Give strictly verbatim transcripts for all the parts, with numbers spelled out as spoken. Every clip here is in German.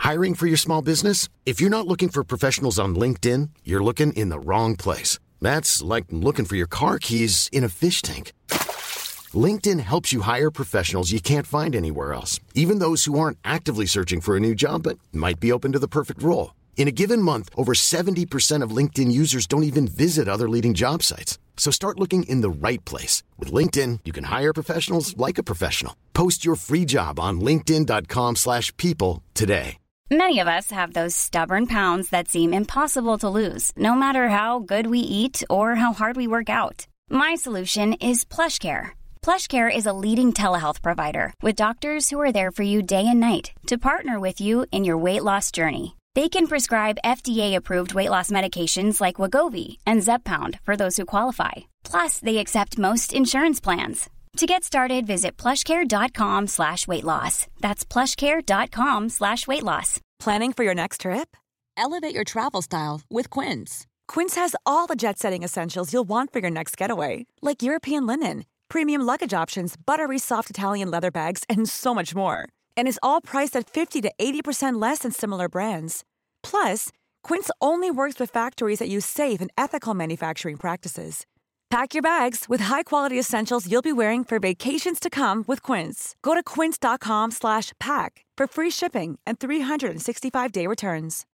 Hiring for your small business? If you're not looking for professionals on LinkedIn, you're looking in the wrong place. That's like looking for your car keys in a fish tank. LinkedIn helps you hire professionals you can't find anywhere else, even those who aren't actively searching for a new job but might be open to the perfect role. In a given month, over seventy percent of LinkedIn users don't even visit other leading job sites. So start looking in the right place. With LinkedIn, you can hire professionals like a professional. Post your free job on linkedin dot com slash people today. Many of us have those stubborn pounds that seem impossible to lose, no matter how good we eat or how hard we work out. My solution is PlushCare. PlushCare is a leading telehealth provider with doctors who are there for you day and night to partner with you in your weight loss journey. They can prescribe F D A-approved weight loss medications like Wegovy and Zepbound for those who qualify. Plus, they accept most insurance plans. To get started, visit plushcare.com slash weight loss. That's plushcare.com slash weight loss. Planning for your next trip? Elevate your travel style with Quince. Quince has all the jet-setting essentials you'll want for your next getaway, like European linen, premium luggage options, buttery soft Italian leather bags, and so much more. And is all priced at fifty to eighty percent less than similar brands. Plus, Quince only works with factories that use safe and ethical manufacturing practices. Pack your bags with high-quality essentials you'll be wearing for vacations to come with Quince. Go to quince.com slash pack for free shipping and three sixty-five day returns.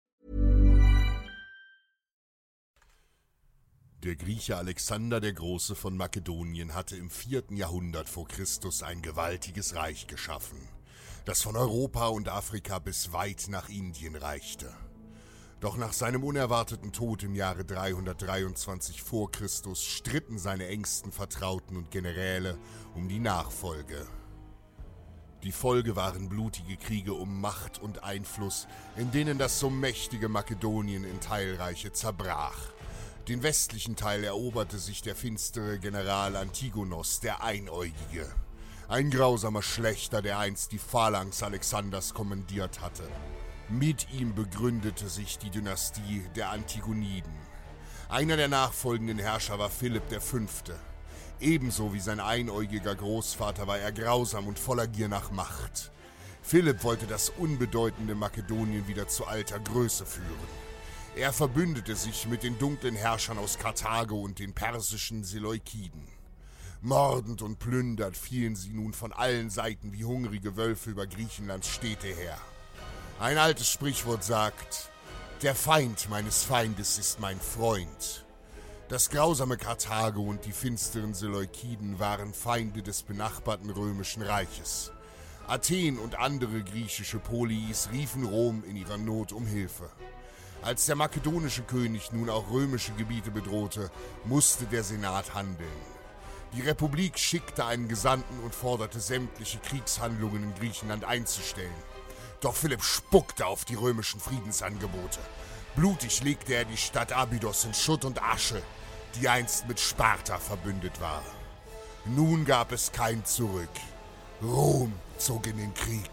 Der Grieche Alexander der Große von Makedonien hatte im vierten Jahrhundert vor Christus ein gewaltiges Reich geschaffen, das von Europa und Afrika bis weit nach Indien reichte. Doch nach seinem unerwarteten Tod im Jahre dreihundertdreiundzwanzig vor Christus stritten seine engsten Vertrauten und Generäle um die Nachfolge. Die Folge waren blutige Kriege um Macht und Einfluss, in denen das so mächtige Makedonien in Teilreiche zerbrach. Den westlichen Teil eroberte sich der finstere General Antigonos, der Einäugige. Ein grausamer Schlächter, der einst die Phalanx Alexanders kommandiert hatte. Mit ihm begründete sich die Dynastie der Antigoniden. Einer der nachfolgenden Herrscher war Philipp der Fünfte. Ebenso wie sein einäugiger Großvater war er grausam und voller Gier nach Macht. Philipp wollte das unbedeutende Makedonien wieder zu alter Größe führen. Er verbündete sich mit den dunklen Herrschern aus Karthago und den persischen Seleukiden. Mordend und plündernd fielen sie nun von allen Seiten wie hungrige Wölfe über Griechenlands Städte her. Ein altes Sprichwort sagt, der Feind meines Feindes ist mein Freund. Das grausame Karthago und die finsteren Seleukiden waren Feinde des benachbarten römischen Reiches. Athen und andere griechische Polis riefen Rom in ihrer Not um Hilfe. Als der makedonische König nun auch römische Gebiete bedrohte, musste der Senat handeln. Die Republik schickte einen Gesandten und forderte sämtliche Kriegshandlungen in Griechenland einzustellen. Doch Philipp spuckte auf die römischen Friedensangebote. Blutig legte er die Stadt Abydos in Schutt und Asche, die einst mit Sparta verbündet war. Nun gab es kein Zurück. Rom zog in den Krieg.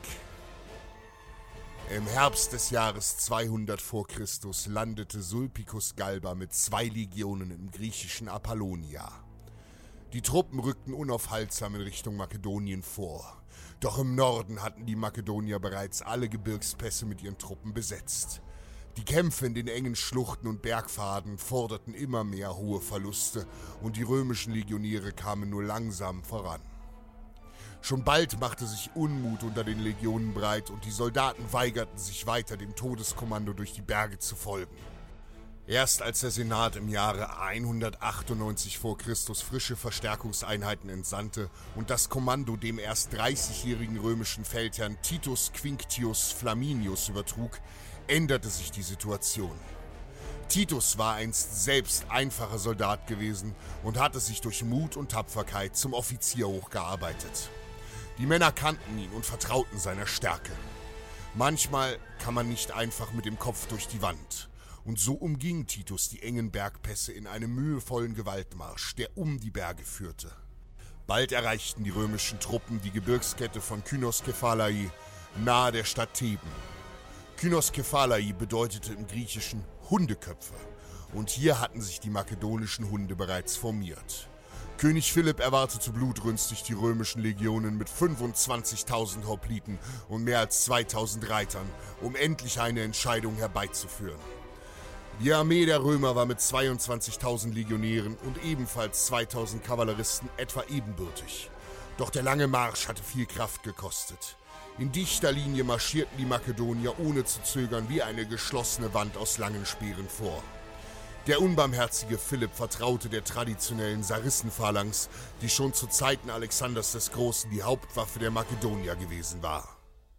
Im Herbst des Jahres zweihundert vor Christus landete Sulpicus Galba mit zwei Legionen im griechischen Apollonia. Die Truppen rückten unaufhaltsam in Richtung Makedonien vor. Doch im Norden hatten die Makedonier bereits alle Gebirgspässe mit ihren Truppen besetzt. Die Kämpfe in den engen Schluchten und Bergpfaden forderten immer mehr hohe Verluste und die römischen Legionäre kamen nur langsam voran. Schon bald machte sich Unmut unter den Legionen breit und die Soldaten weigerten sich weiter dem Todeskommando durch die Berge zu folgen. Erst als der Senat im Jahre hundertachtundneunzig vor Christus frische Verstärkungseinheiten entsandte und das Kommando dem erst dreißigjährigen römischen Feldherrn Titus Quinctius Flaminius übertrug, änderte sich die Situation. Titus war einst selbst einfacher Soldat gewesen und hatte sich durch Mut und Tapferkeit zum Offizier hochgearbeitet. Die Männer kannten ihn und vertrauten seiner Stärke. Manchmal kann man nicht einfach mit dem Kopf durch die Wand. Und so umging Titus die engen Bergpässe in einem mühevollen Gewaltmarsch, der um die Berge führte. Bald erreichten die römischen Truppen die Gebirgskette von Kynoskephalae nahe der Stadt Theben. Kynoskephalae bedeutete im Griechischen Hundeköpfe und hier hatten sich die makedonischen Hunde bereits formiert. König Philipp erwartete blutrünstig die römischen Legionen mit fünfundzwanzigtausend Hopliten und mehr als zweitausend Reitern, um endlich eine Entscheidung herbeizuführen. Die Armee der Römer war mit zweiundzwanzigtausend Legionären und ebenfalls zweitausend Kavalleristen etwa ebenbürtig. Doch der lange Marsch hatte viel Kraft gekostet. In dichter Linie marschierten die Makedonier ohne zu zögern wie eine geschlossene Wand aus langen Speeren vor. Der unbarmherzige Philipp vertraute der traditionellen Sarissenphalanx, die schon zu Zeiten Alexanders des Großen die Hauptwaffe der Makedonier gewesen war.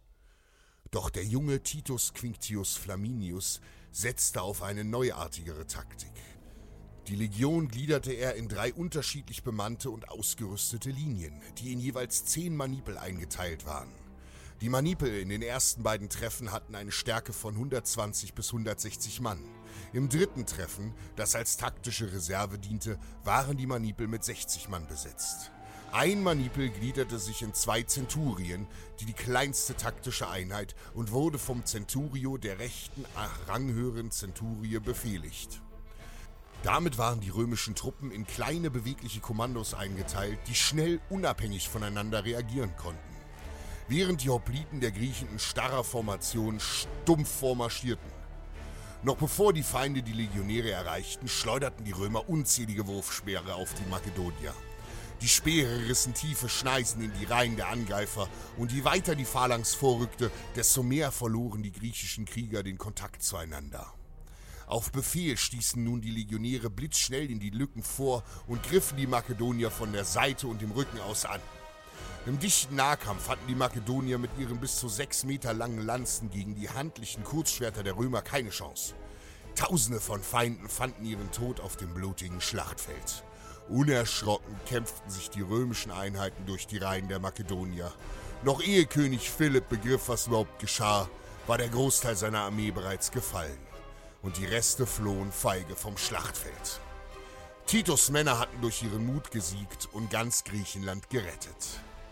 Doch der junge Titus Quinctius Flaminius setzte auf eine neuartigere Taktik. Die Legion gliederte er in drei unterschiedlich bemannte und ausgerüstete Linien, die in jeweils zehn Manipel eingeteilt waren. Die Manipel in den ersten beiden Treffen hatten eine Stärke von hundertzwanzig bis hundertsechzig Mann. Im dritten Treffen, das als taktische Reserve diente, waren die Manipel mit sechzig Mann besetzt. Ein Manipel gliederte sich in zwei Zenturien, die die kleinste taktische Einheit, und wurde vom Centurio der rechten ranghöheren Zenturie befehligt. Damit waren die römischen Truppen in kleine bewegliche Kommandos eingeteilt, die schnell unabhängig voneinander reagieren konnten. Während die Hopliten der Griechen in starrer Formation stumpf vormarschierten. Noch bevor die Feinde die Legionäre erreichten, schleuderten die Römer unzählige Wurfspeere auf die Makedonier. Die Speere rissen tiefe Schneisen in die Reihen der Angreifer, und je weiter die Phalanx vorrückte, desto mehr verloren die griechischen Krieger den Kontakt zueinander. Auf Befehl stießen nun die Legionäre blitzschnell in die Lücken vor und griffen die Makedonier von der Seite und dem Rücken aus an. Im dichten Nahkampf hatten die Makedonier mit ihren bis zu sechs Meter langen Lanzen gegen die handlichen Kurzschwerter der Römer keine Chance. Tausende von Feinden fanden ihren Tod auf dem blutigen Schlachtfeld. Unerschrocken kämpften sich die römischen Einheiten durch die Reihen der Makedonier. Noch ehe König Philipp begriff, was überhaupt geschah, war der Großteil seiner Armee bereits gefallen. Und die Reste flohen feige vom Schlachtfeld. Titus' Männer hatten durch ihren Mut gesiegt und ganz Griechenland gerettet.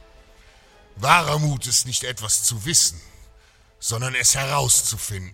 Wahrer Mut ist nicht etwas zu wissen, sondern es herauszufinden.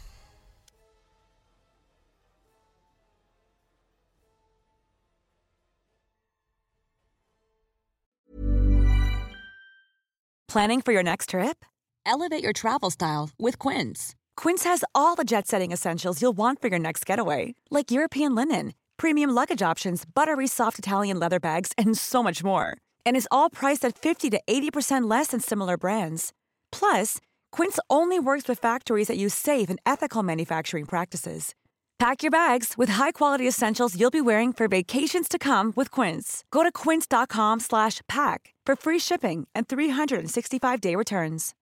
Planning for your next trip? Elevate your travel style with Quince. Quince has all the jet-setting essentials you'll want for your next getaway, like European linen, premium luggage options, buttery soft Italian leather bags, and so much more. And is all priced at fifty to eighty percent less than similar brands. Plus, Quince only works with factories that use safe and ethical manufacturing practices. Pack your bags with high-quality essentials you'll be wearing for vacations to come with Quince. Go to quince.com slash pack for free shipping and three sixty-five day returns.